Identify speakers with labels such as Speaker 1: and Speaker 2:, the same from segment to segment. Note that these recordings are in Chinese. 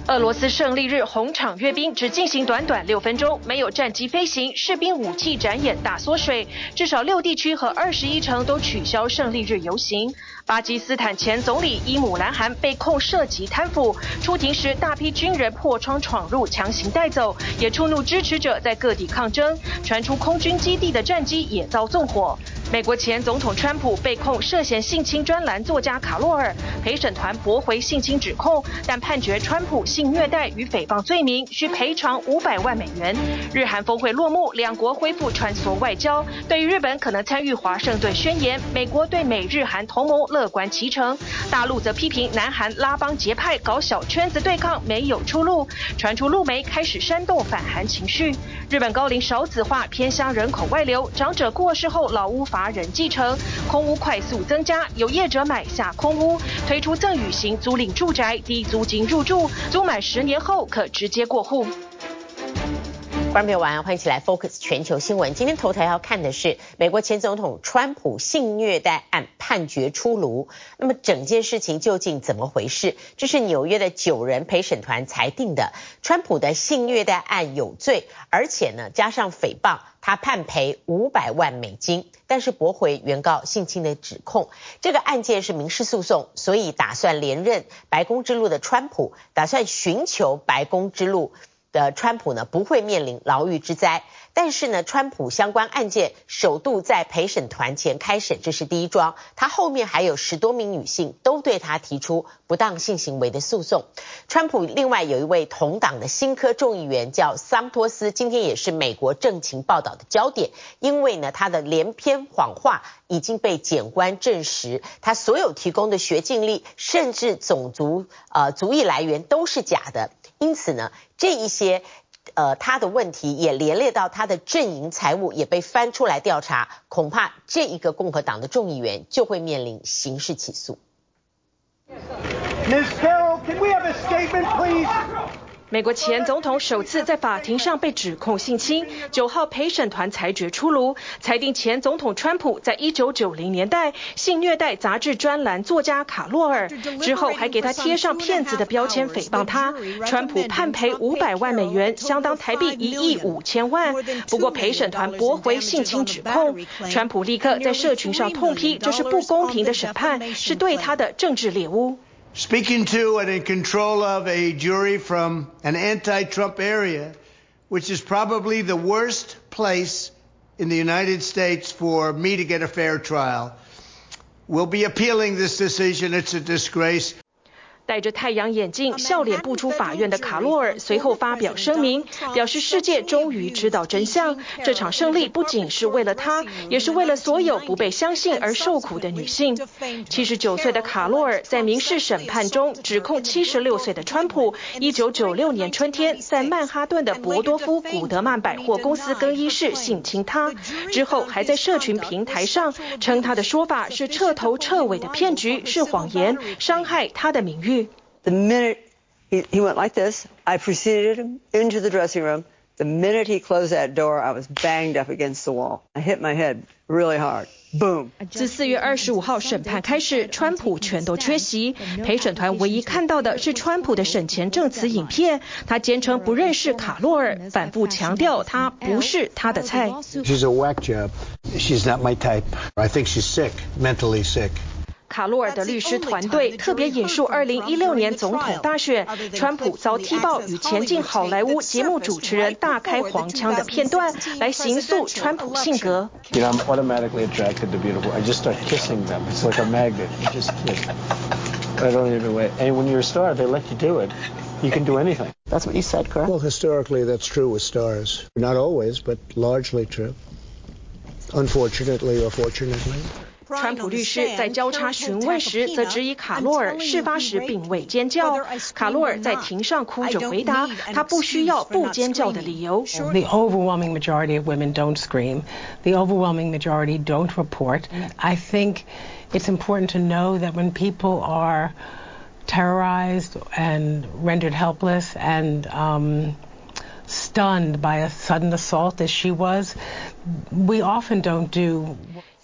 Speaker 1: 俄羅斯勝利日紅場閱兵只進行短短6分鐘，沒有戰機飛行，士兵武器展演大縮水，至少6地區和21城都取消勝利日遊行。巴基斯坦前總理伊姆蘭汗被控涉及貪腐，出庭時大批軍人破窗闖入，強行帶走，也觸怒支持者在各地抗爭，傳出空軍基地的戰機也遭縱火。美國前總統川普被控涉嫌性侵專欄作家卡洛爾，陪審團駁回性侵指控，但判決川普性虐待與誹謗罪名需賠償500萬美元。日韓峰會落幕，兩國恢復穿梭外交。對於日本可能參與華盛頓宣言，美國對美日韓同盟樂觀其成，大陸則批評南韓拉幫結派搞小圈子對抗沒有出路，傳出陸媒開始煽動反韓情緒。日本高齡少子化，偏鄉人口外流，長者過世後老屋乏人繼承，空屋快速增加，有業者買下空屋，推出贈與型租賃住宅，低租金入住，租滿10年後可直接過戶。
Speaker 2: 觀眾朋友晚安，歡迎一起來 Focus 全球新聞。今天頭條要看的是美國前總統川普性虐待案判決出爐，那麼整件事情究竟怎麼回事？這是紐約的9人陪審團裁定的，川普的性虐待案有罪，而且呢加上誹謗，他判賠500萬美金，但是駁回原告性侵的指控。這個案件是民事訴訟，所以打算連任白宮之路的川普，打算尋求白宮之路的川普呢不會面臨牢獄之災，但是呢川普相關案件首度在陪審團前開審，這是第一樁，他後面還有10多名女性都對他提出不當性行為的訴訟。川普另外有一位同黨的新科眾議員叫桑托斯，今天也是美國政情報道的焦點，因為呢他的連篇謊話已經被檢官證實，他所有提供的學經歷甚至種族族裔來源都是假的，因此呢這一些他的問題也連累到他的陣營財務也被翻出來調查，恐怕這一個共和黨的眾議員就會面臨刑事起訴。
Speaker 3: Ms. Carroll, can we have a statement, please?
Speaker 1: 美國前總統首次在法庭上被指控性侵，9號陪審團裁決出爐，裁定前總統川普在1990年代性虐待雜誌專欄作家卡洛爾，之後還給他貼上騙子的標籤誹謗他。川普判賠500萬美元，相當台幣1億5千萬。不過陪審團駁回性侵指控，川普立刻在社群上痛批這是不公平的審判，是對他的政治獵巫。
Speaker 3: Speaking to and in control of a jury from an anti-Trump area, which is probably the worst place in the United States for me to get a fair trial. We'll be appealing this decision. It's a disgrace.
Speaker 1: 戴着太陽眼鏡、笑臉步出法院的卡洛爾隨後發表聲明，表示世界終於知道真相。這場勝利不僅是為了他，也是為了所有不被相信而受苦的女性。79歲的卡洛爾在民事審判中指控76歲的川普1996年春天在曼哈頓的伯多夫古德曼百貨公司更衣室性侵他，之後還在社群平台上稱他的說法是徹頭徹尾的騙局，是謊言，傷害他的名譽。
Speaker 4: The minute he went like this, I preceded him into the dressing room. The minute he closed that door, I was banged up against the wall. I hit my head really hard. Boom.
Speaker 1: 自4月25號審判開始，川普全都缺席。陪審團唯一看到的是川普的審前證詞影片，他堅稱不認識卡洛爾，反覆強調他不是他的菜。
Speaker 3: She's a whack job. She's not my type. I think she's sick, mentally sick.
Speaker 1: 卡洛爾的律師團隊特別引述2016年總統大選，川普遭踢爆與前進好萊塢節目主持人大開黃腔的片段，來形塑川普性格。
Speaker 5: You know, I'm automatically attracted to beautiful. I just start kissing them. It's like a magnet. You just kiss. I don't even wait. And when you're a star, they let you do it. You can do anything.
Speaker 4: That's what you said, correct?
Speaker 3: Well, historically, that's true with stars. Not always, but largely true. Unfortunately or fortunately.
Speaker 1: 川普律師在交叉詢問時，則質疑卡洛爾事發時並未尖叫。卡洛爾在庭上哭着回答，他不需要不尖叫的理由。
Speaker 6: The overwhelming majority of women don't scream. The overwhelming majority don't report. I think it's important to know that when people are terrorized and rendered helpless and stunned by a sudden assault as she was, we often don't do.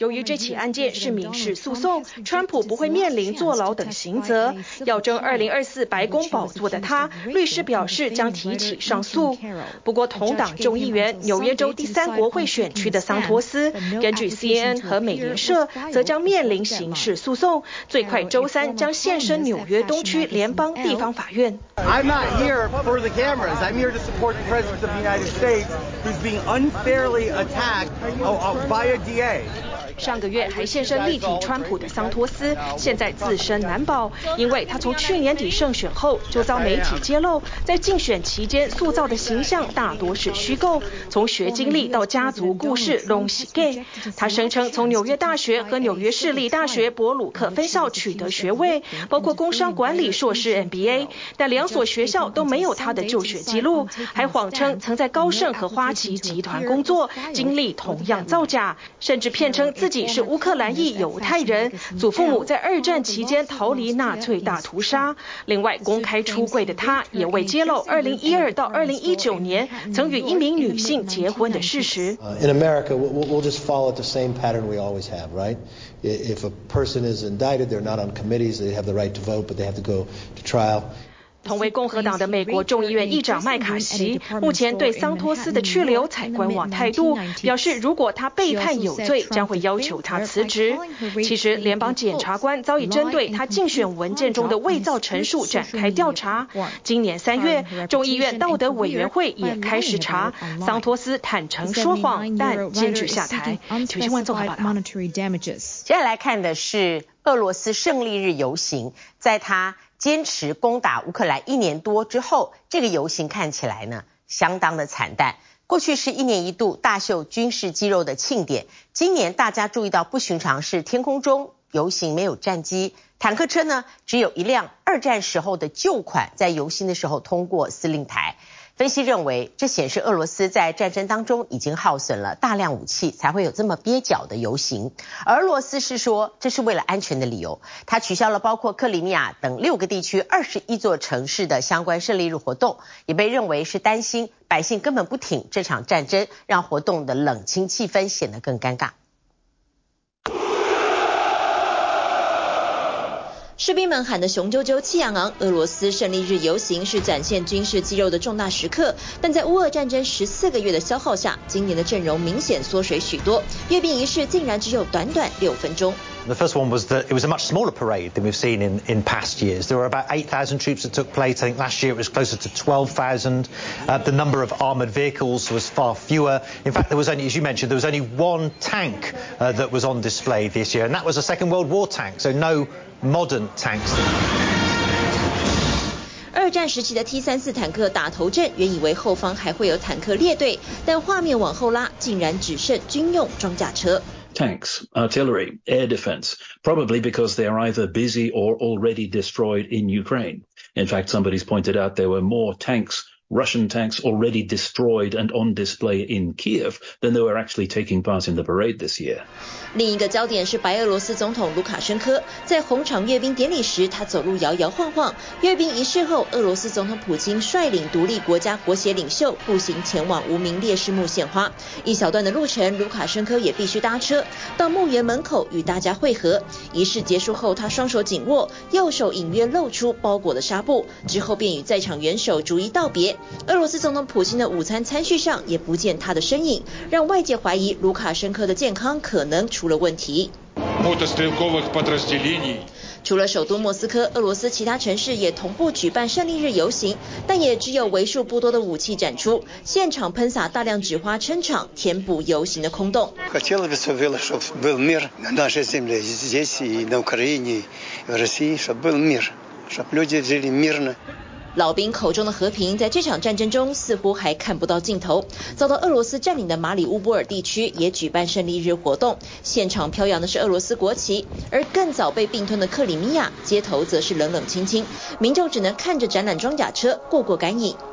Speaker 1: 由於這起案件是民事訴訟，川普不會面臨坐牢等刑責。要爭2024白宮寶座的他，律師表示將提起上訴。不過，同黨眾議員、紐約州第3國會選區的桑托斯，根據 CNN 和美聯社，則將面臨刑事訴訟，最快周3將現身紐約東區聯邦地方法院。
Speaker 7: I'm not here for the cameras. I'm here to support the President of the United States, who's being unfairly attacked by a DA.
Speaker 1: 上個月還現身力挺川普的桑托斯，現在自身難保，因為他從去年底勝選後就遭媒體揭露，在競選期間塑造的形象大多是虛構，從學經歷到家族故事攏是假。他聲稱從紐約大學和紐約市立大學伯魯克分校取得學位，包括工商管理碩士 MBA， 但兩所學校都沒有他的就學記錄，還謊稱曾在高盛和花旗集團工作，經歷同樣造假，甚至騙稱自己是烏克蘭裔猶太人，祖父母在二戰期間逃離納粹大屠殺。另外，公開出櫃的他也未揭露2012到2019年曾與一名女性結婚的事實。
Speaker 8: In America, we'll just follow the same pattern we always have, right? If a person is indicted, they're not on committees, they have the right to vote, but they have to go to trial.
Speaker 1: 同为共和黨的美國眾議院議長麥卡錫目前對桑托斯的去留採觀望態度，表示如果他被判有罪，將會要求他辭職。其實聯邦檢察官早已針對他競選文件中的偽造陳述展開調查。今年3月，眾議院道德委員會也開始查，桑托斯坦誠說謊，但堅決下台。請新聞綜合報道。
Speaker 2: 接下來看的是俄羅斯勝利日遊行，在他堅持攻打烏克蘭1年多之後，這個遊行看起來呢相當的慘淡。過去是1年1度大秀軍事肌肉的慶典，今年大家注意到不尋常是天空中遊行沒有戰機，坦克車呢只有一輛2戰時候的舊款在遊行的時候通過司令台。分析認為，這顯示俄羅斯在戰爭當中已經耗損了大量武器，才會有這麼蹩腳的遊行。而俄羅斯是說，這是為了安全的理由，他取消了包括克里米亞等6個地區21座城市的相關勝利日活動，也被認為是擔心百姓根本不挺這場戰爭，讓活動的冷清氣氛顯得更尷尬。
Speaker 9: 士兵們喊得雄赳赳氣昂昂，俄羅斯勝利日遊行是展現軍事肌肉的重大時刻，但在烏俄戰爭14個月的消耗下，今年的陣容明顯縮水許多，閱兵儀式竟然只有短短6分鐘。
Speaker 10: The first one was that it was a much smaller parade than we've seen in past years. There were about 8,000 troops that took place. I think last year it was closer to 12,000. The number of armoured vehicles was far fewer. In fact, there was only, as you mentioned, there was only one tank that was on display this year, and that was a Second World War tank, so no modern tanks.
Speaker 9: 二戰時期的 T-34坦克打頭陣，原以為後方還會有坦克列隊，但畫面往後拉，竟然只剩軍用裝甲車。
Speaker 11: Tanks, artillery, air defense, probably because they are either busy or already destroyed in Ukraine. In fact, somebody's pointed out there were more tanks, Russian tanks already destroyed and on display in Kiev than they were actually taking part in the parade this year.
Speaker 9: 另一個焦點是白俄羅斯總統盧卡申科在紅場閱兵典禮時，他走路搖搖晃晃。閱兵儀式後，俄羅斯總統普京率領獨立國家國協領袖步行前往無名烈士墓獻花。一小段的路程，盧卡申科也必須搭車到墓園門口與大家會合。儀式結束後，他雙手緊握，右手隱約露出包裹的紗布，之後便與在場元首逐一道別。俄羅斯總統普京的午餐餐序上也不見他的身影，讓外界懷疑盧卡申科的健康可能出了問題。除了首都莫斯科，俄羅斯其他城市也同步舉辦勝利日遊行，但也只有為數不多的武器展出，現場噴灑大量紙花撐場，填補遊行的空洞。老兵口中的和平，在這場戰爭中似乎還看不到盡頭。遭到俄羅斯佔領的馬里烏波爾地區也舉辦勝利日活動，現場飄揚的是俄羅斯國旗，而更早被併吞的克里米亞街頭則是冷冷清清，民眾只能看着展覽裝甲車過過乾癮。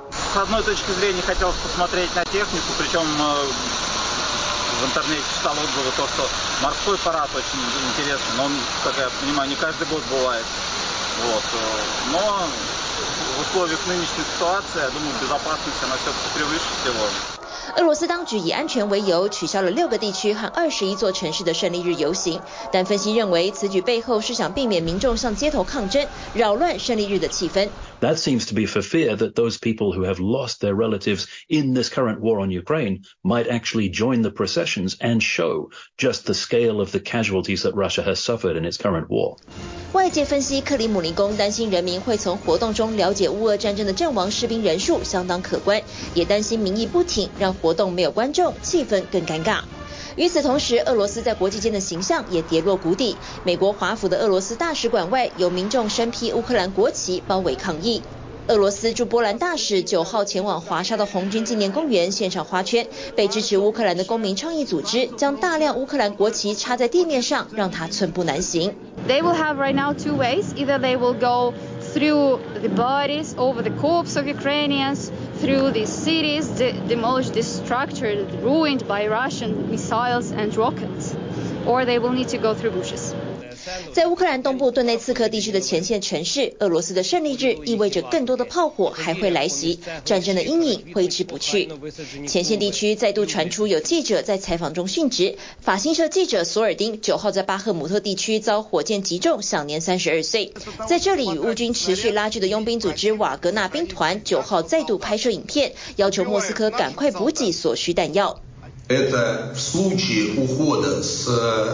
Speaker 12: В интернете читал отзывы, то, что морской парад очень интересный, но он, как я понимаю, не каждый год бывает. Вот. Но вот условиях нынешней ситуации, я думаю, безопасность она все-таки превыше всего.
Speaker 9: 俄羅斯当局以安全為由，取消了6個地區和21座城市的勝利日遊行，但分析認為此舉背後是想避免民眾上街頭抗爭，擾亂勝利日的氣氛。
Speaker 11: That seems to be for fear that those people who have lost their relatives in this current war on Ukraine might actually join the processions and show just the scale of the casualties that Russia has suffered in its current war.
Speaker 9: 外界分析，克里姆林宮擔心人民會從活動中了解烏俄戰爭的陣亡士兵人數相當可觀，也擔心民意不挺，讓活動沒有觀眾，氣氛更尷尬。與此同時，俄羅斯在國際間的形象也跌落谷底。美國華府的俄羅斯大使館外有民眾身披烏克蘭國旗包圍抗議。俄羅斯駐波蘭大使9號前往華沙的紅軍紀念公園獻上花圈，被支持烏克蘭的公民倡議組織將大量烏克蘭國旗插在地面上，讓他寸步難行。
Speaker 13: They will have right now two ways. Either they will go through the bodies over the corpses of Ukrainians, through these cities demolished, destructured, ruined by Russian missiles and rockets, or they will need to go through bushes.
Speaker 9: 在烏克蘭東部頓內茨克地區的前線城市，俄羅斯的勝利日意味着更多的炮火還會來襲，戰爭的陰影揮之不去。前線地區再度傳出有記者在採訪中殉職，法新社記者索爾丁9號在巴赫姆特地區遭火箭擊中，享年32歲。在這裡與烏軍持續拉鋸的傭兵組織瓦格納兵團9號再度拍攝影片，要求莫斯科趕快補給所需彈藥。
Speaker 14: Это в случае ухода с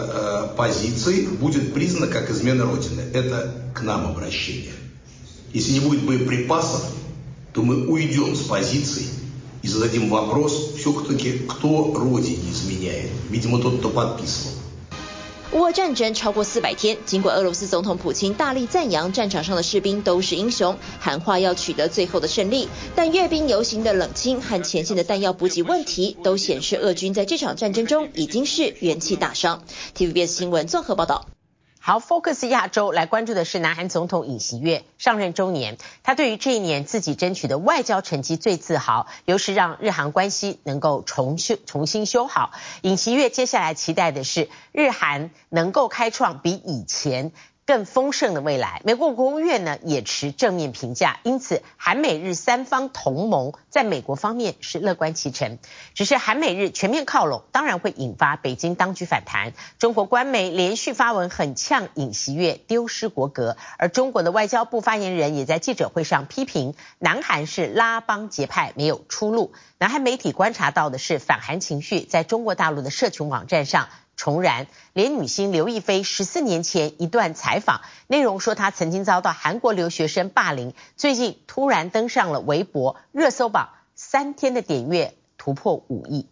Speaker 14: позиций будет признано как измена Родины. Это к нам обращение. Если не будет боеприпасов, то мы уйдем с позиций и зададим вопрос все-таки, кто Родине изменяет. Видимо, тот, кто подписывал.
Speaker 9: 烏俄戰爭超過400天，儘管俄羅斯總統普京大力讚揚戰場上的士兵都是英雄，喊話要取得最後的勝利，但閱兵遊行的冷清和前線的彈藥補給問題，都顯示俄軍在這場戰爭中已經是元氣大傷。TVBS 新聞綜合報道。
Speaker 2: 好 ，Focus 亞洲來關注的是南韓總統尹錫悅上任週年，他對於這一年自己爭取的外交成績最自豪，尤是讓日韓關係能夠重新修好。尹錫悅接下來期待的是日韓能夠開創比以前更豐盛的未來。美國國務院呢也持正面評價，因此韓美日三方同盟在美國方面是樂觀其成。只是韓美日全面靠攏，當然會引發北京當局反彈。中國官媒連續發文很嗆尹錫悅丟失國格，而中國的外交部發言人也在記者會上批評南韓是拉幫結派，沒有出路。南韓媒體觀察到的是反韓情緒在中國大陸的社群網站上重燃，連女星劉亦菲14年前一段採訪，內容說她曾經遭到韓國留學生霸凌，最近突然登上了微博熱搜榜，3天的點閱突破5億。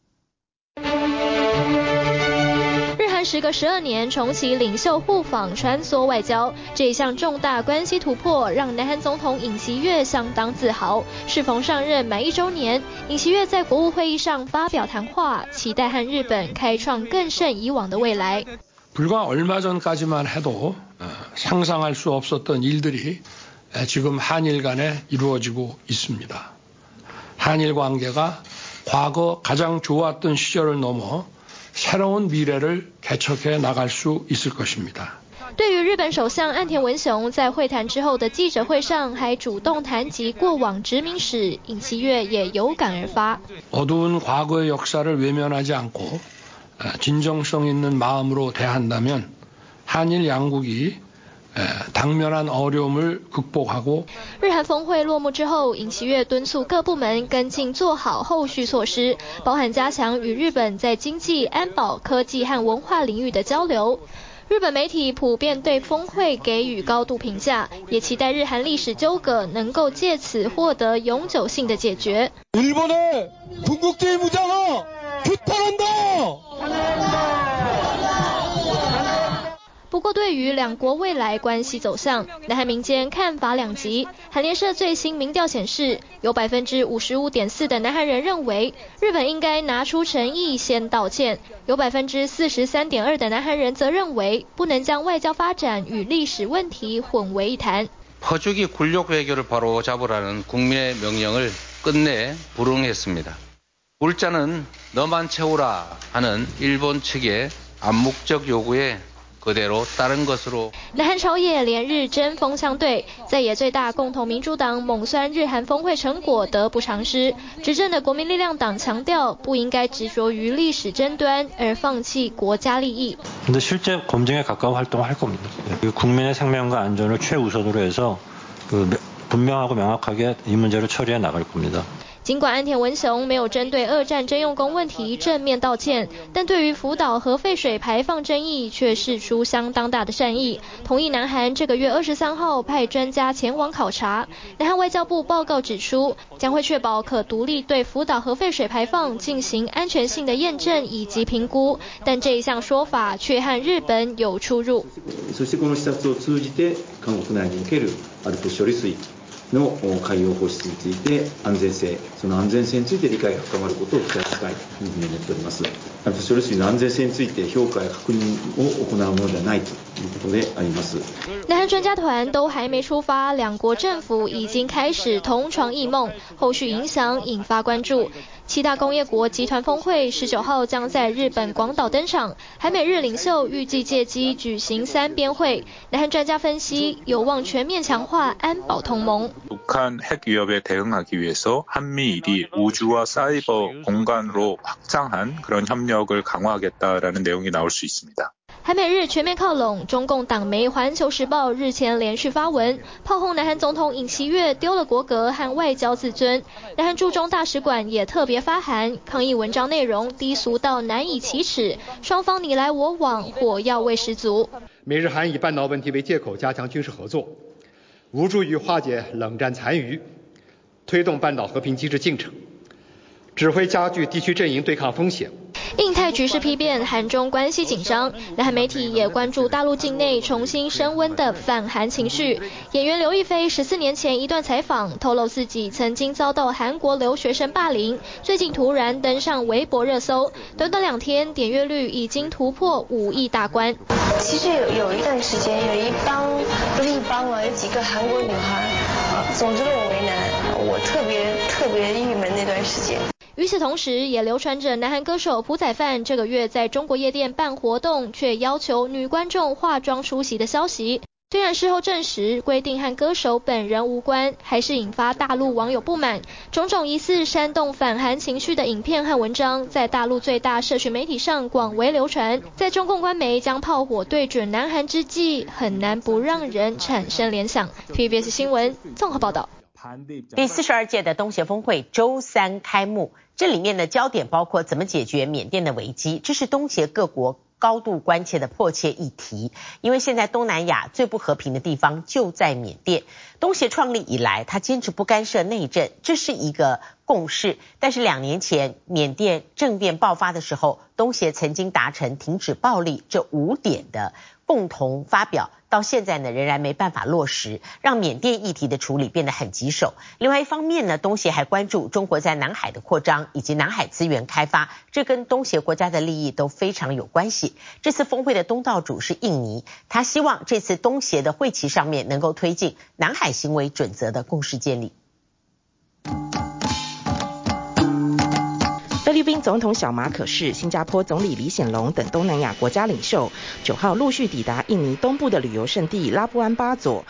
Speaker 15: 時隔12年重啟領袖互訪穿梭外交，這一項重大關係突破讓南韓總統尹錫悅相當自豪。適逢上任滿1週年，尹錫悅在國務會議上發表談話，期待和日本開創更勝以往的未來。
Speaker 16: 불과 얼마 전까지만 해도 상상할 수 없었던 일들이 지금 한일 간에 이루어지고 있습니다. 한일 관계가 과거 가장 좋았던 시절을 넘어 새로운 미래를 개척해 나갈 수 있을 것입니다.
Speaker 15: 對於日本首相岸田文雄在會談之後的記者會上還主動談及過往殖民史，尹錫悅也有感而發。
Speaker 16: 어두운 과거의 역사를 외면하지 않고 진정성 있는 마음으로 대한다면 한일 양국이 당면한 어려움을 극복하고
Speaker 15: 日韓峰會落幕之後，尹錫悅敦促各部門跟進做好後續措施，包含加強與日本在經濟、安保、科技和文化領域的交流。日本媒體普遍對峰會給予高度評價，也期待日韓歷史糾葛能夠借此獲得永久性的解決。
Speaker 16: 일본의 군국주의 무장어 규탄한다!
Speaker 15: 不過，對於兩國未來關係走向，南韓民間看法兩極。韓聯社最新民調顯示，有 55.4% 的南韓人認為日本應該拿出誠意先道歉，有 43.2% 的南韓人則認為不能將外交發展與歷史問題混為一談。
Speaker 17: 퍼주기 굴욕 외교를 바로 잡으라는 국민의 명령을 끝내 불응했습니다. 물자는 너만 채우라 하는 일본 측의 암묵적 요구에 그대로 따른 것으로.
Speaker 15: 南韓朝野連日針鋒相對，在野最大共同民主黨猛酸日韓峰會成果得不償失。執政的國民力量黨強調，不應該執着於歷史爭端而放棄國家利益。
Speaker 18: 근데 실제 검증에 가까운 활동을 할 겁니다. 국민의 생명과 안전을 최우선으로 해서 분명하고 명확하게 이 문제를 처리해 나갈 겁니다.
Speaker 15: 儘管岸田文雄沒有針對二戰徵用工問題正面道歉，但對於福島核廢水排放爭議卻釋出相當大的善意，同意南韓這個月23號派專家前往考察。南韓外交部報告指出，將會確保可獨立對福島核廢水排放進行安全性的驗證以及評估，但這一項說法卻和日本有出入。
Speaker 19: そしてこの視察を通じて韓国內におけるALPS処理水の海洋放出について安全性、その安全性について理解が深まることを期待したいというふうに思っております。ALPS処理水の安全性について評価や確認を行うものではないということであります。
Speaker 15: 南韓專家團都還沒出發，兩國政府已經開始同床異夢，後續影響引發關注。七大工業國集團峰會19號將在日本廣島登場，韓美日領袖預計借機舉行三邊會。南韓專家分析，有望全面強化安保同盟。
Speaker 20: 북한 핵 위협에 대응하기 위해서 한미일이 우주와 사이버 공간으로 확장한 그런 협력을 강화하겠다라는 내용이 나올 수 있습니다.
Speaker 15: 韓美日全面靠攏，中共黨媒《環球時報》日前連續發文炮轟南韓總統尹錫悅丟了國格和外交自尊。南韓駐中大使館也特別發函抗議文章內容低俗到難以啟齒，雙方你來我往，火藥味十足。
Speaker 21: 美日韓以半島問題為借口加強軍事合作，無助於化解冷戰殘餘，推動半島和平機制進程，只會加劇地區陣營對抗風險。
Speaker 15: 印太局勢丕變，韓中關係緊張。南韓媒體也關注大陸境內重新升溫的反韓情緒。演員劉亦菲14年前一段採訪，透露自己曾經遭到韓國留學生霸凌，最近突然登上微博熱搜，短短2天點閱率已經突破5億大關。
Speaker 22: 其實有一段時間，有幾個韓國女孩，總之讓我為難，我特別鬱悶那段時間。
Speaker 15: 與此同時，也流傳着南韓歌手朴宰範這個月在中國夜店辦活動，卻要求女觀眾化妝出席的消息。雖然事後證實規定和歌手本人無關，還是引發大陸網友不滿。種種疑似煽動反韓情緒的影片和文章，在大陸最大社群媒體上廣為流傳。在中共官媒將炮火對準南韓之際，很難不讓人產生聯想。TVBS 新聞綜合報道。
Speaker 2: 第42屆的東協峰會週3開幕，這裡面的焦點包括怎麼解決緬甸的危機，這是東協各國高度關切的迫切議題。因為現在東南亞最不和平的地方就在緬甸。東協創立以來，他堅持不干涉內政，這是一個共識。但是2年前緬甸政變爆發的時候，東協曾經達成停止暴力這5點的共同發表。 到現在呢，仍然沒辦法落實，讓緬甸議題的處理變得很棘手。另外一方面呢，東協還關注中國在南海的擴張以及南海資源開發，這跟東協國家的利益都非常有關係。這次峰會的東道主是印尼，他希望這次東協的會期上面能夠推進南海行為準則的共識建立。
Speaker 23: 菲律賓總統小馬可仕、新加坡總理李顯龍等東南亞國家領袖9號陸續抵達印尼東部的旅遊勝地拉布安巴佐，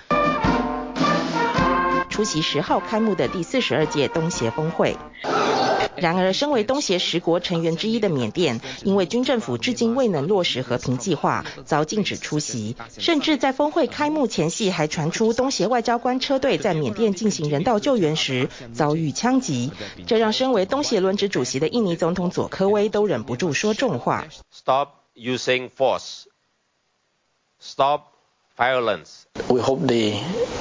Speaker 23: 出席10號開幕的第42屆東協峰會。然而，身為東協10國成員之一的緬甸，因為軍政府至今未能落實和平計劃，遭禁止出席。甚至在峰會開幕前夕，還傳出東協外交官車隊在緬甸進行人道救援時遭遇槍擊，這讓身為東協輪值主席的印尼總統佐科威都忍不住說重話
Speaker 24: ：Stop using force. Stop violence.
Speaker 5: We hope the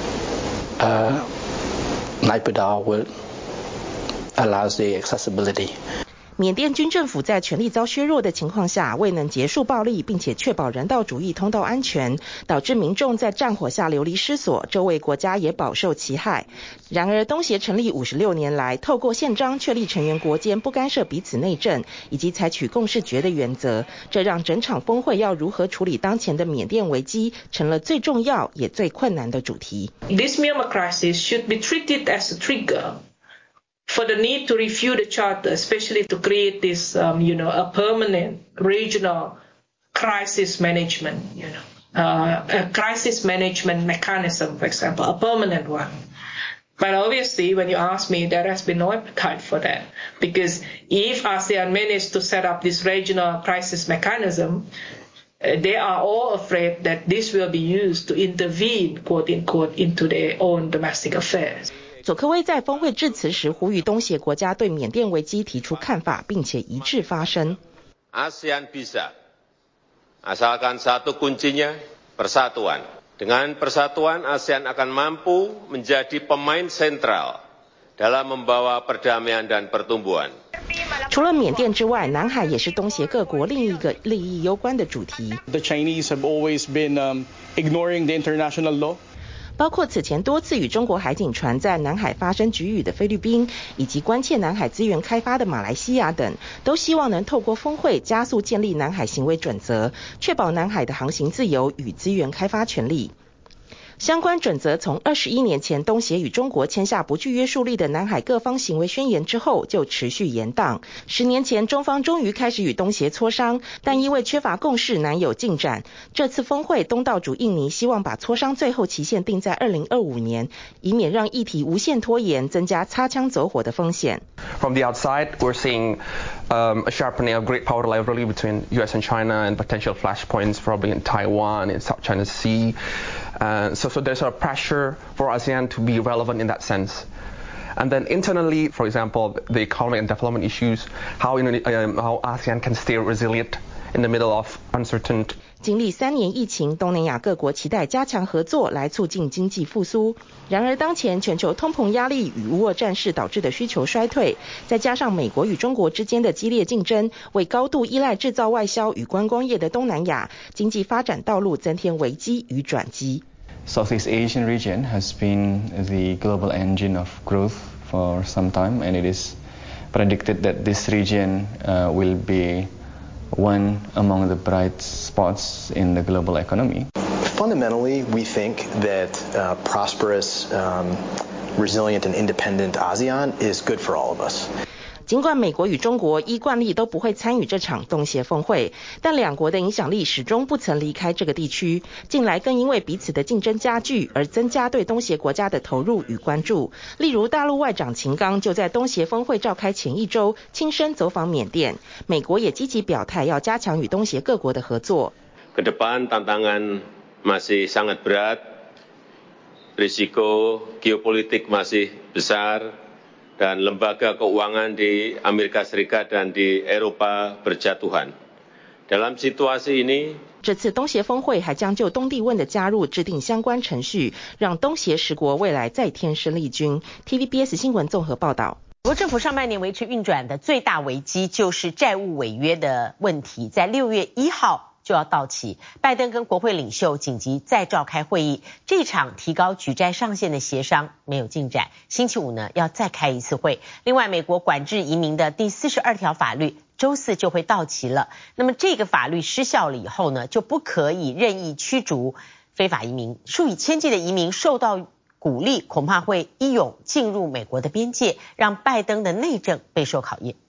Speaker 5: Naypyidaw will allows the accessibility.
Speaker 23: 緬甸軍政府在權力遭削弱的情況下，未能結束暴力，並且確保人道主義通道安全，導致民眾在戰火下流離失所，周圍國家也飽受其害。然而，東協成立56年來，透過憲章確立成員國間不干涉彼此內政，以及採取共識決的原則，這讓整場峰會要如何處理當前的緬甸危機，成了最重要也最困難的主題。
Speaker 25: This Myanmar crisis should be treated as a trigger for the need to review the charter, especially to create this, a permanent regional crisis management, a crisis management mechanism, for example, a permanent one. But obviously, when you ask me, there has been no appetite for that. Because if ASEAN managed to set up this regional crisis mechanism, they are all afraid that this will be used to intervene, quote unquote, into their own domestic affairs.
Speaker 23: 佐科威在峰會致辭時呼籲東協國家對緬甸危機提出看法，並且一致發聲。
Speaker 24: ASEAN bisa, asalkan satu kuncinya persatuan. Dengan persatuan, ASEAN akan mampu menjadi pemain sentral dalam membawa perdamaian dan pertumbuhan.
Speaker 23: 除了緬甸之外，南海也是東協各國另一個利益攸關的主題。
Speaker 3: The Chinese have always been ignoring the international law.
Speaker 23: 包括此前多次與中國海警船在南海發生局域的菲律賓，以及關切南海資源開發的馬來西亞等，都希望能透過峰會加速建立南海行為準則，確保南海的航行自由與資源開發權利。相關準則從21年前東協與中國簽下不具約束力的南海各方行為宣言之後就持續延宕。10年前中方終於開始與東協磋商，但因為缺乏共識難有進展。這次峰會東道主印尼希望把磋商最後期限定在2025年，以免讓議題無限拖延，增加擦槍走火的風險。
Speaker 4: From the outside, we're seeing a sharpening of great power rivalry between US and China and potential flashpoints probably in Taiwan, in South China Sea. So there's a pressure for ASEAN to be relevant in that sense. And then internally, for example, the economic and development issues, how ASEAN can stay resilient in the middle of uncertain.
Speaker 23: 經歷3年疫情，東南亞各國期待加強合作來促進經濟復甦。然而當前全球通膨壓力與烏俄戰事導致的需求衰退，再加上美國與中國之間的激烈競爭，為高度依賴製造外銷與觀光業的東南亞經濟發展道路增添危機與轉機。
Speaker 6: Southeast Asian region has been the global engine of growth for some time, and it is predicted that this region will be one among the bright spots in the global economy.
Speaker 7: Fundamentally, we think that prosperous, resilient, and independent ASEAN is good for all of us.
Speaker 23: 儘管美國與中國依慣例都不會參與這場東協峰會，但兩國的影響力始終不曾離開這個地區。近來更因為彼此的競爭加劇而增加對東協國家的投入與關注。例如大陸外長秦剛就在東協峰會召開前一周親身走訪緬甸，美國也積極表態要加強與東協各國的合作。
Speaker 24: Kedepan tantangan masih sangat berat, risiko geopolitik masih besar.dan lembaga keuangan di Amerika Serikat dan di Eropa berjatuhan. Dalam situasi ini,
Speaker 23: 這次東協峰會還將就東帝汶的加入制定相關程序，讓東協10國未來再添生力軍。TVBS 新聞綜合報道。
Speaker 2: 美國政府上半年維持運轉的最大危機就是債務違約的問題，在6月1號就要到期，拜登跟國會領袖緊急再召開會議，這場提高舉債上限的協商沒有進展，星期五呢要再開一次會。另外，美國管制移民的第42條法律週4就會到期了，那麼這個法律失效了以後呢，就不可以任意驅逐非法移民，數以千計的移民受到鼓勵，恐怕會一湧進入美國的邊界，讓拜登的內政備受考驗。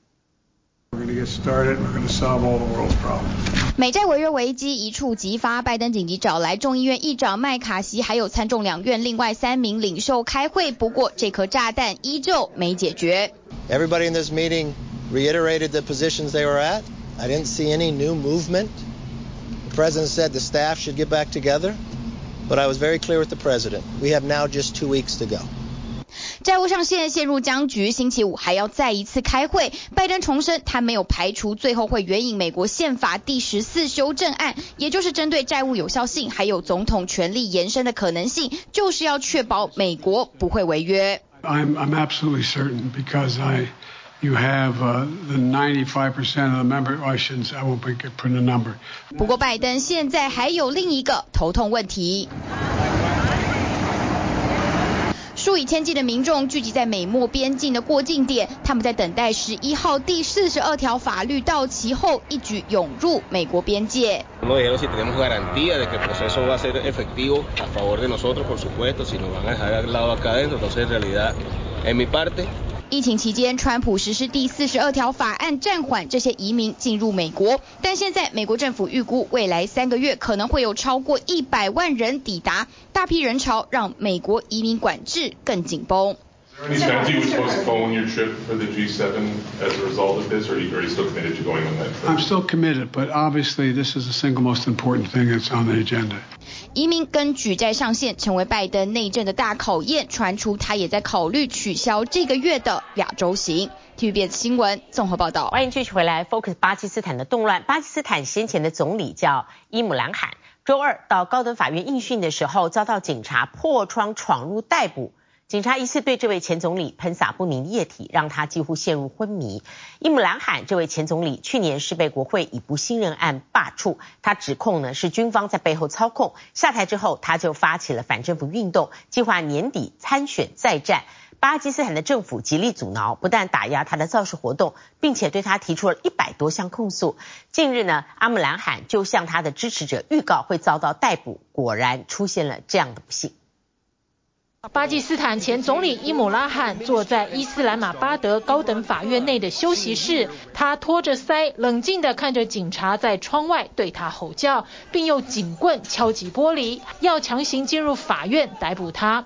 Speaker 8: 美債違約危機一觸即發，拜登緊急找來眾議院議長麥卡錫，還有參眾兩院另外3名領袖開會。不過，這顆炸彈依舊沒解決。
Speaker 26: Everybody in this meeting reiterated the positions they were at. I didn't see any new movement. The president said the staff should get back together, but I was very clear with the president. We have now just 2 weeks to go.
Speaker 8: 債務上限陷入僵局，星期五還要再一次開會。拜登重申，他沒有排除最後會援引美國憲法第14修正案，也就是針對債務有效性還有總統權力延伸的可能性，就是要確保美國不會違約。
Speaker 16: I'm absolutely certain because you have the 95% of the member. I won't put a number.
Speaker 8: 不過拜登現在還有另一個頭痛問題。數以千計的民眾聚集在美墨邊境的過境點，他們在等待11號第42條法律到期後，一舉湧入美國邊界。 疫情期間，川普實施第42條法案，暫緩這些移民進入美國。但現在，美國政府預估未來3個月可能會有超過100萬人抵達，大批人潮讓美國移民管制更緊繃。
Speaker 1: Is there any chance you would postpone your trip for the G7 as a result of this, or are you still committed to going on that trip?
Speaker 10: I'm still committed, but obviously this is the single most important thing that's on the agenda.
Speaker 8: 移民跟舉債上限成為拜登內政的大考驗，傳出他也在考慮取消這個月的亞洲行。TVBS 新聞綜合報道。
Speaker 2: 歡迎繼續回來 Focus 巴基斯坦的動亂。巴基斯坦先前的總理叫伊姆蘭罕，周二到高等法院應訊的時候，遭到警察破窗闖入逮捕。警察疑似對這位前總理噴灑不明液體，讓他幾乎陷入昏迷。伊姆蘭罕這位前總理去年是被國會以不信任案罷黜，他指控呢是軍方在背後操控。下台之後，他就發起了反政府運動，計劃年底參選再戰。巴基斯坦的政府極力阻撓，不但打壓他的造勢活動，並且對他提出了100多項控訴。近日呢，阿姆蘭罕就向他的支持者預告會遭到逮捕，果然出現了這樣的不幸。
Speaker 11: 巴基斯坦前總理伊姆拉罕坐在伊斯蘭馬巴德高等法院內的休息室，他托着腮，冷靜地看着警察在窗外對他吼叫，並用警棍敲擊玻璃，要強行進入法院逮捕他。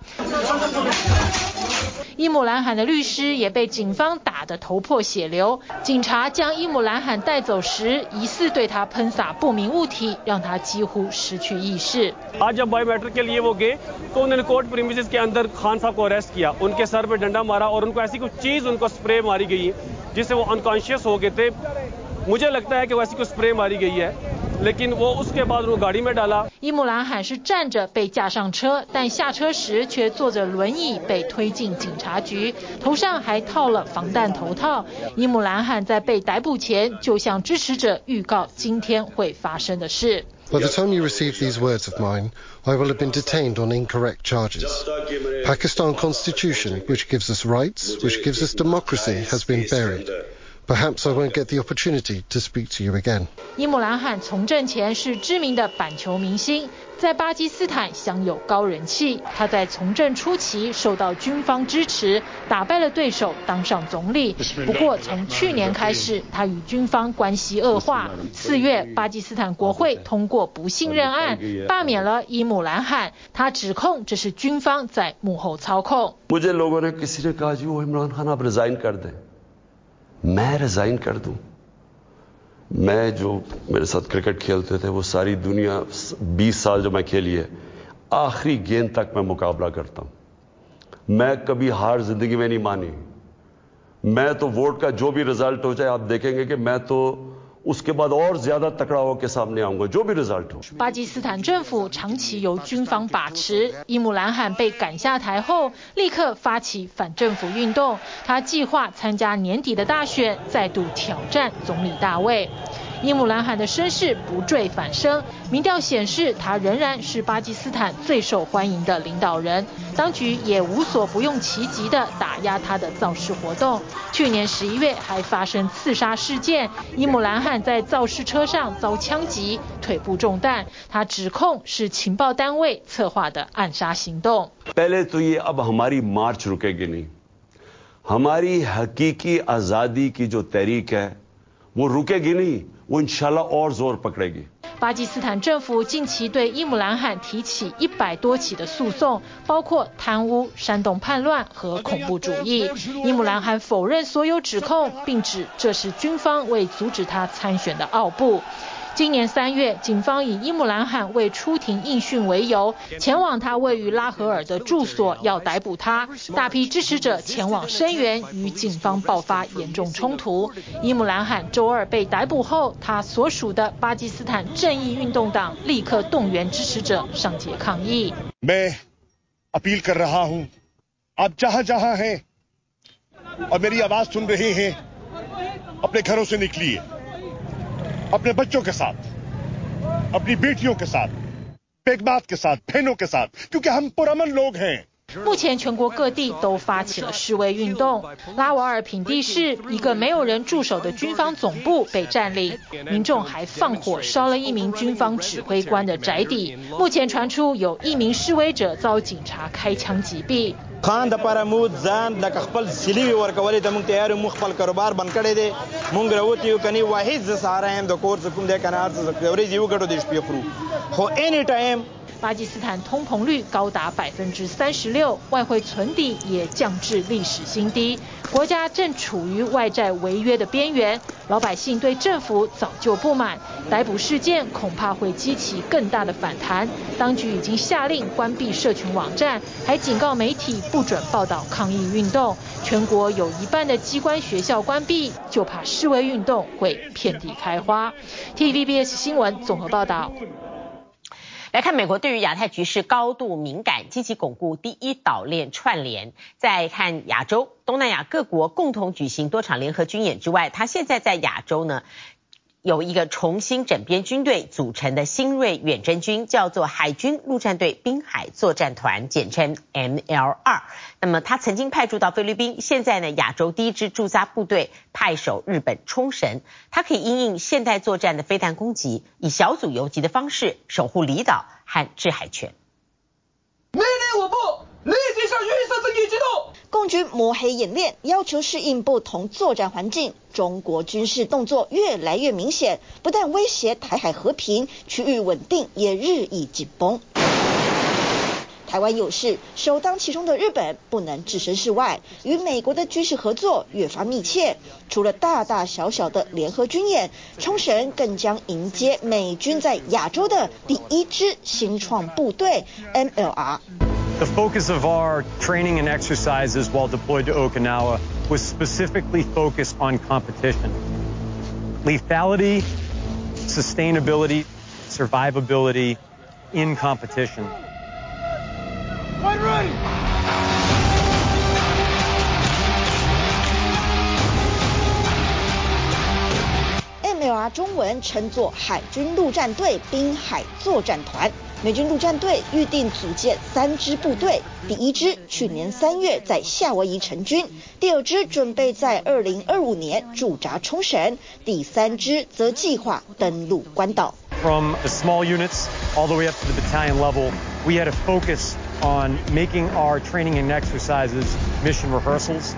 Speaker 11: 伊姆蘭罕的律師也被警方打得頭破血流。警察將伊姆蘭罕帶走時，疑似對他噴灑不明物體，讓他幾乎失去意識。
Speaker 12: आज जब बायोमेट्रिक के लिए वो गए तो उन्होंने court premises के अंदर खान साहब को अरेस्ट किया, उनके सर पे डंडा मारा और उनको ऐसी कोई चीज उनको स्प्रे मारी गई है जिससे वो अनकॉन्शियस हो गए थे। मुझे लगता है कि वैसी कोई स्प्रे मारी गई है, लेकिन वो उसके बाद वो गाड़ी में डाला。
Speaker 11: 伊姆蘭罕是站着被架上車，但下車時卻坐着輪椅被推進警察局，頭上還套了防彈頭套。伊姆蘭罕在被逮捕前就向支持者預告今天會發生的事。
Speaker 13: By the time you receive these words of mine, I will have been detained on incorrect charges. Pakistan Constitution, which gives us rights, which gives us democracy, has been buried. Perhaps I won't get the opportunity to speak to you again.
Speaker 11: 伊姆蘭罕從政前是知名的板球明星，在巴基斯坦享有高人氣。他在從政初期受到軍方支持，打敗了對手，當上總理。不過從去年開始，他與軍方關係惡化。4月，巴基斯坦國會通過不信任案，罷免了伊姆蘭罕。他指控這是軍方在幕後操控。
Speaker 14: मुझे लोगों ने किसी ने कहा जी वो इमरान खान आप रिजाइन कर दें। मैं रिजाइन कर दूं। मैं जो मेरे साथ क्रिकेट खेलते थे वो सारी दुनिया 20 साल जो मैं खेली है, आखिरी गेंद तक मैं मुकाबला करता हूं। मैं कभी हार जिंदगी में नहीं मानी। मैं तो वोट का जो भी रिजल्ट हो जाए आप देखेंगे कि मैं तो उसके बाद और ज्यादा तकड़ा होकर सामने आऊंगा, जो भी रिजल्ट हो।
Speaker 11: 巴基斯坦政府長期由軍方把持，伊姆蘭罕被趕下台後，立刻發起反政府運動。他計劃參加年底的大選，再度挑戰總理大位。伊姆蘭罕的聲勢不墜反升，民調顯示他仍然是巴基斯坦最受歡迎的領導人。當局也無所不用其極地打壓他的造勢活動。去年11月還發生刺殺事件，伊姆蘭罕在造勢車上遭槍擊，腿部中彈。他指控是情報單位策劃的暗殺行動。
Speaker 14: पहले तो ये अब हमारी मार्च रुकेगी नहीं, हमारी हकीकी आजादी की जो तहरीक है वो रुकेगी नहीं, वो इंशाल्लाह और जोर पकड़ेगी。
Speaker 11: 巴基斯坦政府近期對伊姆蘭罕提起100多起的訴訟，包括貪污、煽動叛亂和恐怖主義。伊姆蘭罕否認所有指控，並指這是軍方為阻止他參選的奧布。今年3月，警方以伊姆蘭罕未出庭應訊為由，前往他位於拉合爾的住所，要逮捕他。大批支持者前往聲援，與警方爆發嚴重衝突。伊姆蘭罕周二被逮捕後，他所屬的巴基斯坦正義運動黨立刻動員支持者上街抗議。
Speaker 27: मैं अपील कर रहा हूं, आप जहां जहां हैं और मेरी आवाज सुन रहे हैं, अपने घरों से निकलिए, अपने बच्चों के साथ, अपनी बेटियों के साथ, बेगमात के साथ, बहनों के साथ, क्योंकि हम पुरअमन लोग हैं।
Speaker 11: 目前全國各地都發起了示威運動。拉瓦爾品第市一個沒有人駐守的軍方總部被佔領，民眾還放火燒了一名軍方指揮官的宅邸。目前傳出有1名示威者遭警察開槍擊斃。
Speaker 9: خان د پاره مو ځان لکه خپل سلیوي ورکولې د مونږ تیار مو خپل کاروبار بند کړی دی مونږ راوتی یو کني واحد ز سهارا هم د کورس کوم د کنار څه ورې یو ګټو د شپې خورو خو اني ټایم
Speaker 11: 巴基斯坦通膨率高達36%，外匯存底也降至歷史新低，國家正處於外債違約的邊緣，老百姓對政府早就不滿，逮捕事件恐怕會激起更大的反彈。當局已經下令關閉社群網站，還警告媒體不准報道抗議運動。全國有一半的機關學校關閉，就怕示威運動會遍地開花。TVBS 新聞綜合報道。
Speaker 2: 來看美國對於亞太局勢高度敏感，積極鞏固第一島鏈串聯。再看亞洲，東南亞各國共同舉行多場聯合軍演之外，它現在在亞洲呢有一個重新整編軍隊組成的新銳遠征軍，叫做海軍陸戰隊濱海作戰團，簡稱 ML2。那麼它曾經派駐到菲律賓，現在呢亞洲第一支駐紮部隊派守日本沖繩，它可以因應現代作戰的飛彈攻擊，以小組游擊的方式守護離島和制海權。
Speaker 17: 命令我部立即向預設陣地機動。
Speaker 18: 共軍摸黑演練，要求適應不同作戰環境。中國軍事動作越來越明顯，不但威脅台海和平，區域穩定也日益緊繃。台灣有事，首當其衝的日本不能置身事外，與美國的軍事合作越發密切。除了大大小小的聯合軍演，沖繩更將迎接美軍在亞洲的第一支新創部隊 MLR。
Speaker 19: The focus of our training and exercises while deployed to Okinawa was specifically focused on competition. Lethality, sustainability, survivability in competition.
Speaker 18: Fight ready! MLR 中文稱作海軍陸戰隊濱海作戰團。美軍陸戰隊預定組建3支部隊，第一支去年3月在夏威夷成軍，第二支準備在2025年駐紮沖繩，第三支則計劃登陸關島。
Speaker 19: From the small units all the way up to the battalion level, we had a focus on making our training and exercises mission rehearsals.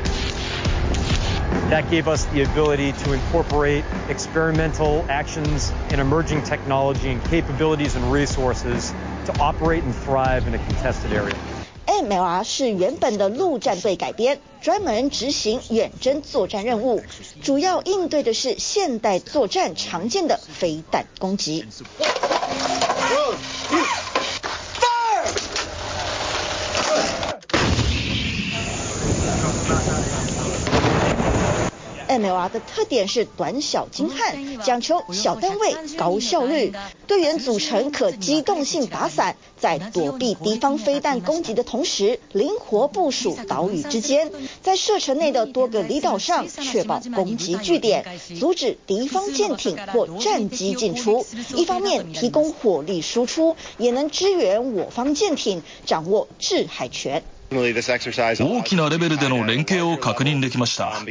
Speaker 19: That gave us the ability to incorporate experimental actions and emerging technology and capabilities and resources to operate and thrive in a contested area.
Speaker 18: MLR 是原本的陸戰隊改編，專門執行遠征作戰任務，主要應對的是現代作戰常見的飛彈攻擊。MLR 的特點是短小精悍，講求小單位高效率，隊員組成可機動性打散，在躲避敵方飛彈攻擊的同時，靈活部署島嶼之間，在射程內的多個離島上確保攻擊據點，阻止敵方艦艇或戰機進出。一方面提供火力輸出，也能支援我方艦艇掌握制海權。
Speaker 20: 大きなレベルでの連携を確認できました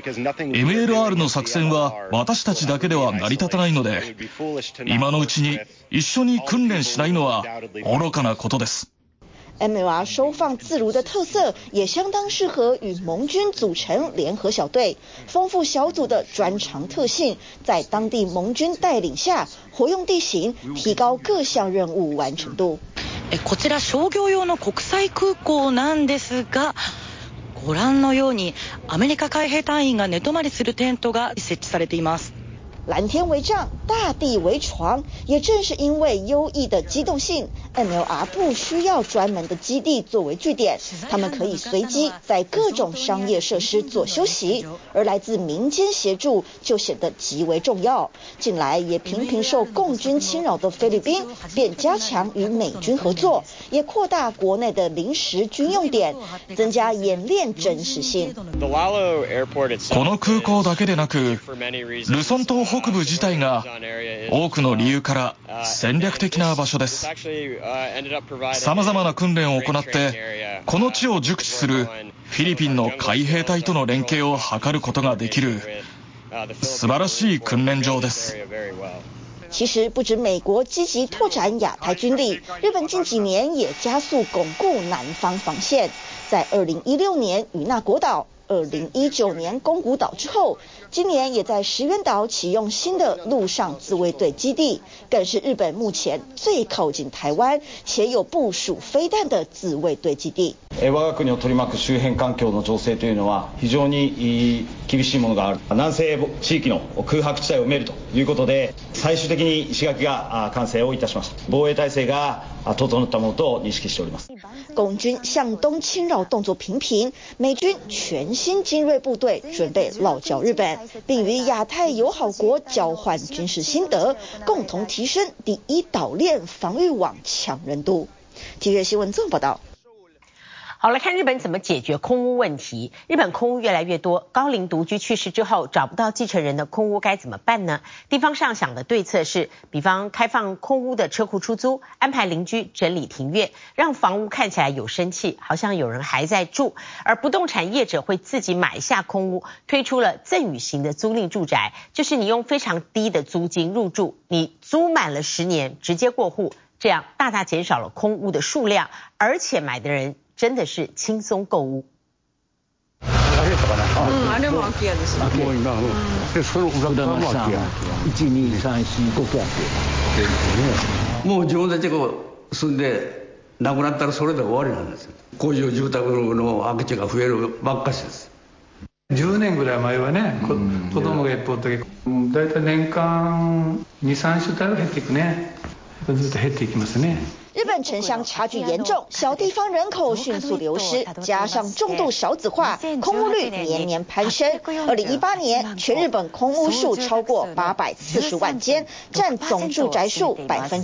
Speaker 20: 。MLR の作戦は私たちだけでは成り立たないので、今のうちに一緒に訓練しないのは愚かなことです。
Speaker 18: MLR 收放自如的特色也相當適合與盟軍組成聯合小隊，豐富小組的專長特性，在當地盟軍帶領下，活用地形，提高各項任務完成度。
Speaker 21: こちら商業用の国際空港なんですが、ご覧のようにアメリカ海兵隊員が寝泊まりするテントが設置されています。
Speaker 18: 藍天為帳，大地為床，也正是因為優異的機動性 ，MLR 不需要專門的基地作為據點，他們可以隨機在各種商業設施做休息，而來自民間協助就顯得極為重要。近來也頻頻受共軍侵擾的菲律賓，便加強與美軍合作，也擴大國內的臨時軍用點，增加演練真實性。
Speaker 20: この空港だけでなく、ルソン島北部自體が多くの理由から戦略的な場所です。様々な訓練を行ってこの地を熟知するフィリピンの海兵隊との連携を図ることができる素晴らしい訓練場です。
Speaker 18: 其實不止美國積極拓展亞太軍力，日本近幾年也加速鞏固南方防線。在2016年與那國島、2019年宮古島之後，今年也在石垣島啟用新的陸上自衛隊基地，更是日本目前最靠近台灣且有部署飛彈的自衛隊基地。
Speaker 3: 我が国を取り巻く周辺環境の情勢というのは非常に厳しいものがある。南西地域の空白地帯を埋めるということで、最終的に石垣が完成をいたしました。防衛体制が整ったものと認識しております。
Speaker 18: 共軍向東侵擾動作頻頻，美軍全新精銳部隊準備落腳日本，並與亞太友好國交換軍事心得，共同提升第一島鏈防禦網強韌度。體育新聞綜合報道。
Speaker 2: 好，來看日本怎麼解決空屋問題。日本空屋越來越多，高齡獨居去世之後找不到繼承人的空屋該怎麼辦呢？地方上想的對策是，比方開放空屋的車庫出租，安排鄰居整理庭院，讓房屋看起來有生氣，好像有人還在住。而不動產業者會自己買下空屋，推出了贈與型的租賃住宅，就是你用非常低的租金入住，你租滿了10年直接過戶，這樣大大減少了空屋的數量，而且買的人真的是輕鬆購屋。
Speaker 4: あれも空き家ですね。で、その裏側も空き家。1、2、3、4、5個空き家。もう自分たちが住んで亡くなったらそれで終わりなんですよ。工場住宅の空き地が増えるばっかしです。10年ぐらい前はね、子供がいっぱいおったけど、だいたい年間2、3世帯は減っていくね。ずっと減っていきますね。
Speaker 18: 日本城鄉差距嚴重，小地方人口迅速流失，加上重度少子化，空屋率年年攀升。2018年，全日本空屋數超過840萬間，佔總住宅數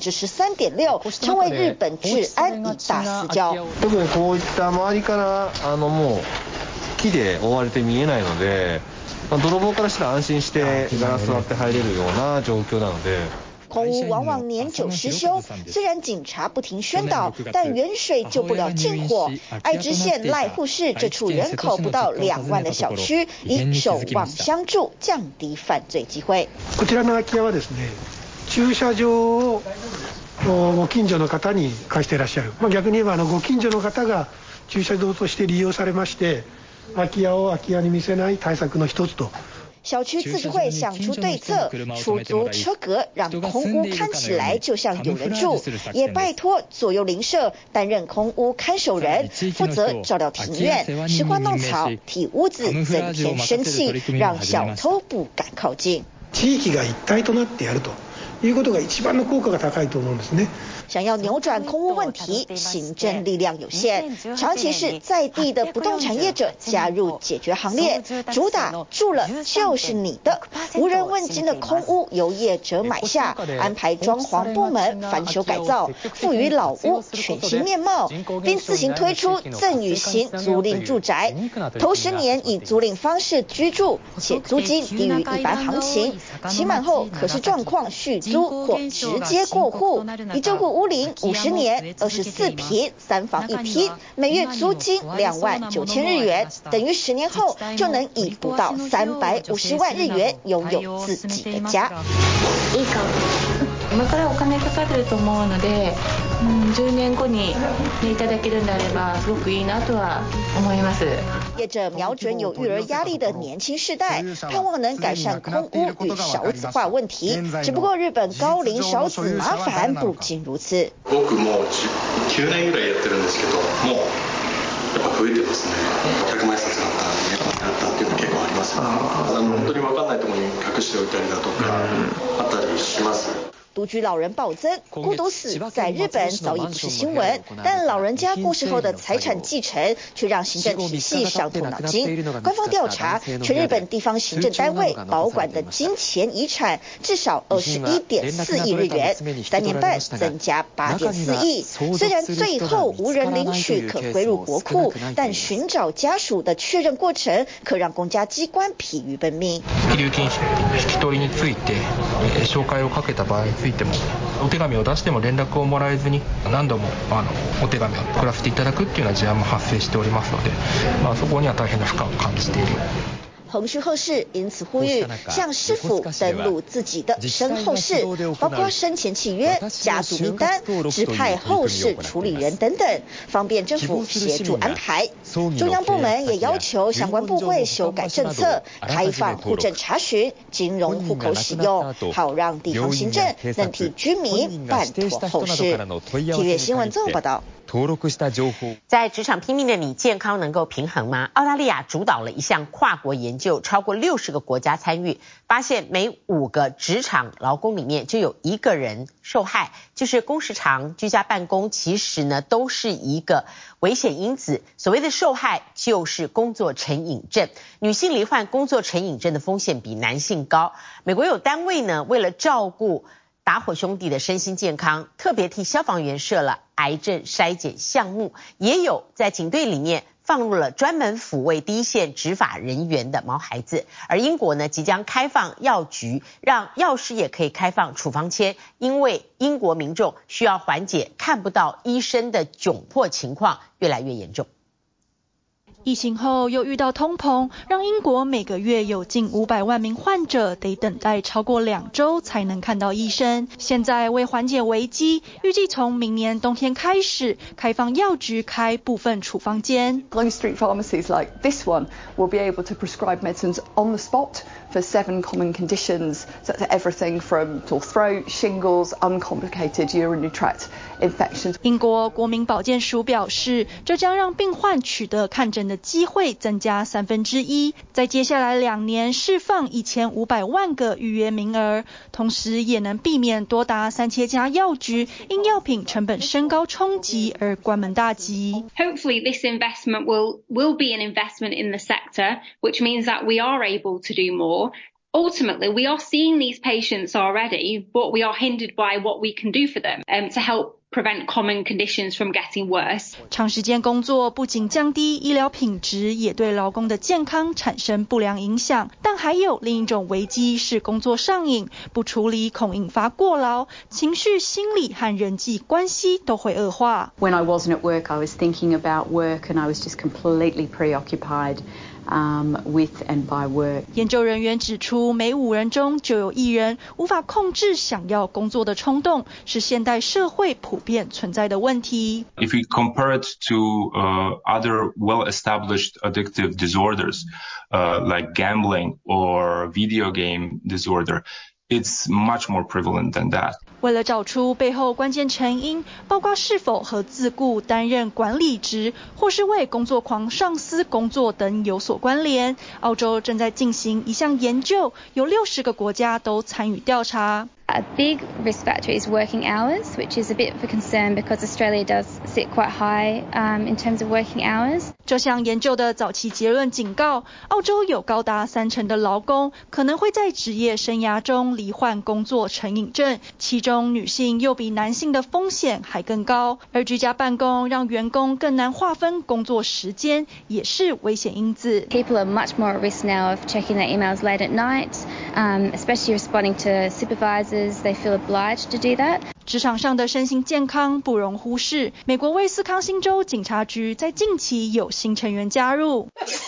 Speaker 18: 13.6%，成為日本治安一大死角。
Speaker 5: 特にこういった周りからもう木で覆われて見えないので、泥棒からしたら安心してガラス割って入れるような状況なので。
Speaker 18: 空屋往往年久失修，雖然警察不停宣導，但遠水救不了近火。愛知縣瀨戶市這處人口不到2萬的小區，以守望相助降低犯罪機會。
Speaker 10: こちらの空き家はですね、駐車場をご近所の方に貸していらっしゃる。逆に言えばご近所の方が駐車場として利用されまして、空き家を空き家に見せない対策の一つと。
Speaker 18: 小區自治會想出對策，出租車格，讓空屋看起來就像有人住，也拜託左右鄰舍擔任空屋看守人，負責照料庭院、拾花弄草、替屋子增添生氣，讓小偷不敢靠近。
Speaker 10: 地域が一體となってやるということが一番の効果が高いと思うんですね。
Speaker 18: 想要扭轉空屋問題，行政力量有限，長期是在地的不動產業者加入解決行列，主打住了就是你的，無人問津的空屋由業者買下，安排裝潢部門翻修改造，賦予老屋全新面貌，並自行推出贈與型租賃住宅，頭10年以租賃方式居住，且租金低於一般行情，期滿後可視狀況續租或直接過戶，以這戶屋齡50年，24坪，3房1廳，每月租金29000日元，等於10年後就能以不到350萬日元擁有自己的家。
Speaker 4: いいか今からお金かかってると思うので、10年後にいただけるんであればすごくいいなとは思います。
Speaker 18: 業者瞄準有育兒壓力的年輕世代，盼望能改善空屋與少子化問題。只不過日本高齡少子麻煩不僅如此。
Speaker 6: 僕もう9年ぐらいやってるんですけど、もうやっぱ増えてますね。100万円札なんかやったっていうの結構ありますよね。本當に分かんないところに隠しておいたりだとかあったりします。
Speaker 18: 獨居老人暴增，孤獨死在日本早已不是新聞，但老人家過世後的財產繼承卻讓行政體系傷透腦筋。官方調查，全日本地方行政單位保管的金錢遺產至少21.4億日元，3年半增加8.4億。雖然最後無人領取可歸入國庫，但尋找家屬的確認過程可讓公家機關疲於奔命。
Speaker 15: 遺留金引き取りについて照會をかけた場合についてもお手紙を出しても連絡をもらえずに何度もお手紙を送らせていただくっていうような事案も発生しておりますので、そこには大変な負荷を感じている。
Speaker 18: 彭旭後氏因此呼籲向市府登錄自己的身後事，包括生前契約、家族名單、指派後事處理人等等，方便政府協助安排。中央部門也要求相關部會修改政策，開放戶政查詢、金融戶口使用，好讓地方行政能替居民辦妥後事。體育新聞綜合報道。
Speaker 2: 在職場拼命的你，健康能夠平衡嗎？澳大利亞主導了一項跨國研究，超過60個國家參與，發現每5個職場勞工裡面就有1個人受害，就是工時長、居家辦公，其實呢都是一個危險因子。所謂的受害就是工作成癮症，女性罹患工作成癮症的風險比男性高。美國有單位呢，為了照顧打火兄弟的身心健康，特別替消防員設了癌症篩檢項目，也有在警隊裡面放入了專門撫慰第一線執法人員的毛孩子。而英國呢，即將開放藥局，讓藥師也可以開放處方簽，因為英國民眾需要緩解看不到醫生的窘迫情況越來越嚴重。
Speaker 7: 疫情後又遇到通膨，讓英國每個月有近500萬名患者得等待超過2週才能看到醫生。現在為緩解危機，預計從明年冬天開始開放藥局開部分處方間。
Speaker 16: Low street pharmacies like this one will be able to prescribe medicines on the spot for 7 common conditions, such as everything from sore throat, shingles, uncomplicated urinary tract infections.
Speaker 7: 英國國民保健署表示，這將讓病患取得看診的機會增加1/3，在接下來2年釋放1500萬個預約名額，同時也能避免多達3000家藥局因藥品成本升高衝擊而關門大吉。
Speaker 22: Hopefully this investment will be an investment in the sector, which means that we are able to do more. Ultimately, we are seeing these patients already, but we are hindered by what we can do for them to help prevent common conditions from getting worse.
Speaker 7: 長時間工作不僅降低醫療品質，也對勞工的健康產生不良影響。但還有另一種危機是工作上癮，不處理恐引發過勞，情緒、心理和人際關係都會惡化。
Speaker 16: When I wasn't at work, I was thinking about work and I was just completely preoccupied.With and by work.
Speaker 7: 研究人員指出，每5人中就有1人無法控制想要工作的衝動，是現代社會普遍存在的問題。
Speaker 23: If we compare it to other well-established addictive disorders, like gambling or video game disorder, it's much more prevalent than that.
Speaker 7: 為了找出背後關鍵成因，包括是否和自僱擔任管理職，或是為工作狂上司工作等有所關聯，澳洲正在進行一項研究，有60個國家都參與調查。
Speaker 22: A big risk factor is working hours, which is a bit of a concern because Australia does sit quite high in terms of working hours.
Speaker 7: 這項研究的早期結論警告，澳洲有高達30%的勞工可能會在職業生涯中罹患工作成癮症，其中女性又比男性的風險還更高。而居家辦公讓員工更難劃分工作時間，也是危險因子。
Speaker 22: People are much more at risk now of checking their emails late at night, especially responding to supervisors.They feel obliged to do that.
Speaker 7: 職場上的身心健康不容忽視。美國威斯康星州警察局在近期有新成員加入。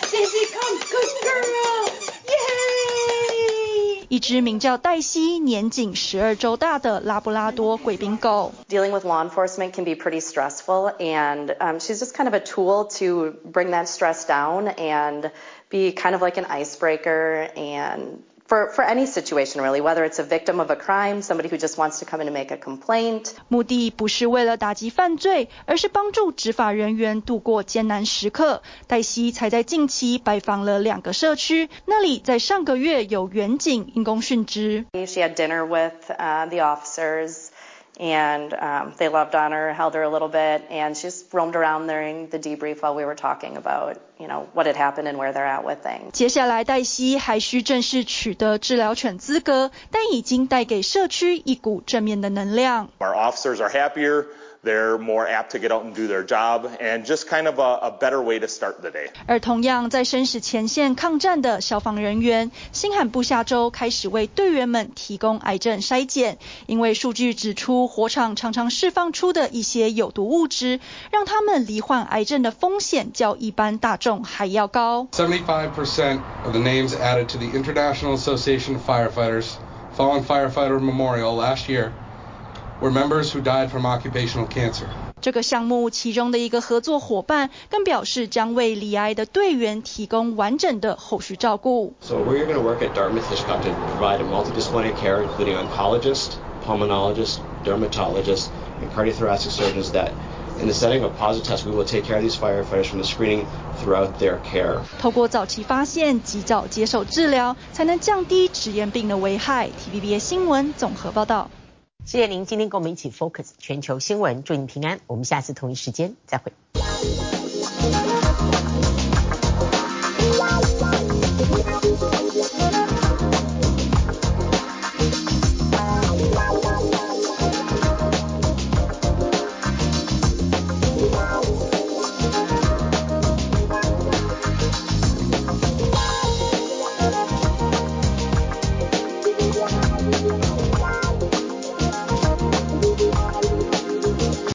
Speaker 7: 一隻名叫黛西、年僅12週大的拉布拉多貴賓狗。
Speaker 24: Dealing with law enforcement can be pretty stressful, and she's just kind of a tool to bring that stress down and be kind of like an icebreaker and.For any situation, really, whether it's a victim of a crime, somebody who just wants to come in and make a complaint.
Speaker 7: 目的不是為了打擊犯罪，而是幫助執法人員度過艱難時刻。黛西才在近期拜訪了2個社區，那裡在上個月有員警因公殉職。
Speaker 24: She had dinner with the officers.And they loved on her, held her a little bit, and she just roamed around during the debrief while we were talking about, what had happened and where they're at with things.
Speaker 7: 接下來，黛西還需正式取得治療犬資格，但已經帶給社區一股正面的能量。
Speaker 27: Our officers are happier.
Speaker 1: they're more apt to get out and do their job, and just kind of a better way to start the day.
Speaker 7: 而同樣在生死前線抗戰的消防人員，新罕布夏州開始為隊員們提供癌症篩檢，因為數據指出，火場常常釋放出的一些有毒物質，讓他們罹患癌症的風險較一般大眾還要高。
Speaker 8: 75% of the names added to the International Association of Firefighters Fallen Firefighter Memorial last year were members who died from occupational cancer.
Speaker 7: 這個項目其中的一個合作夥伴更表示，將為罹癌的隊員提供完整的後續照顧。
Speaker 12: So we're going to work at Dartmouth-Hitchcock to provide a multidisciplinary care, including oncologists, pulmonologists, dermatologists, and cardiothoracic surgeons that in the setting of a positive test, we will take care of these firefighters from the screening throughout their care.
Speaker 7: 透過早期發現，及早接受治療，才能降低質驗病的危害。TVBS 新聞綜合報道。
Speaker 2: 謝謝您今天跟我們一起 focus 全球新聞，祝您平安。我們下次同一時間再會。